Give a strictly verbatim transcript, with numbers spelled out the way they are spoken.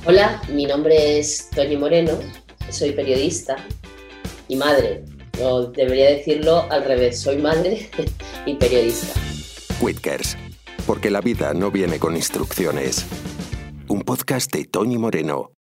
Hola, mi nombre es Toñi Moreno, soy periodista y madre, o debería decirlo al revés, soy madre y periodista. Whitkers, porque la vida no viene con instrucciones. Un podcast de Toñi Moreno.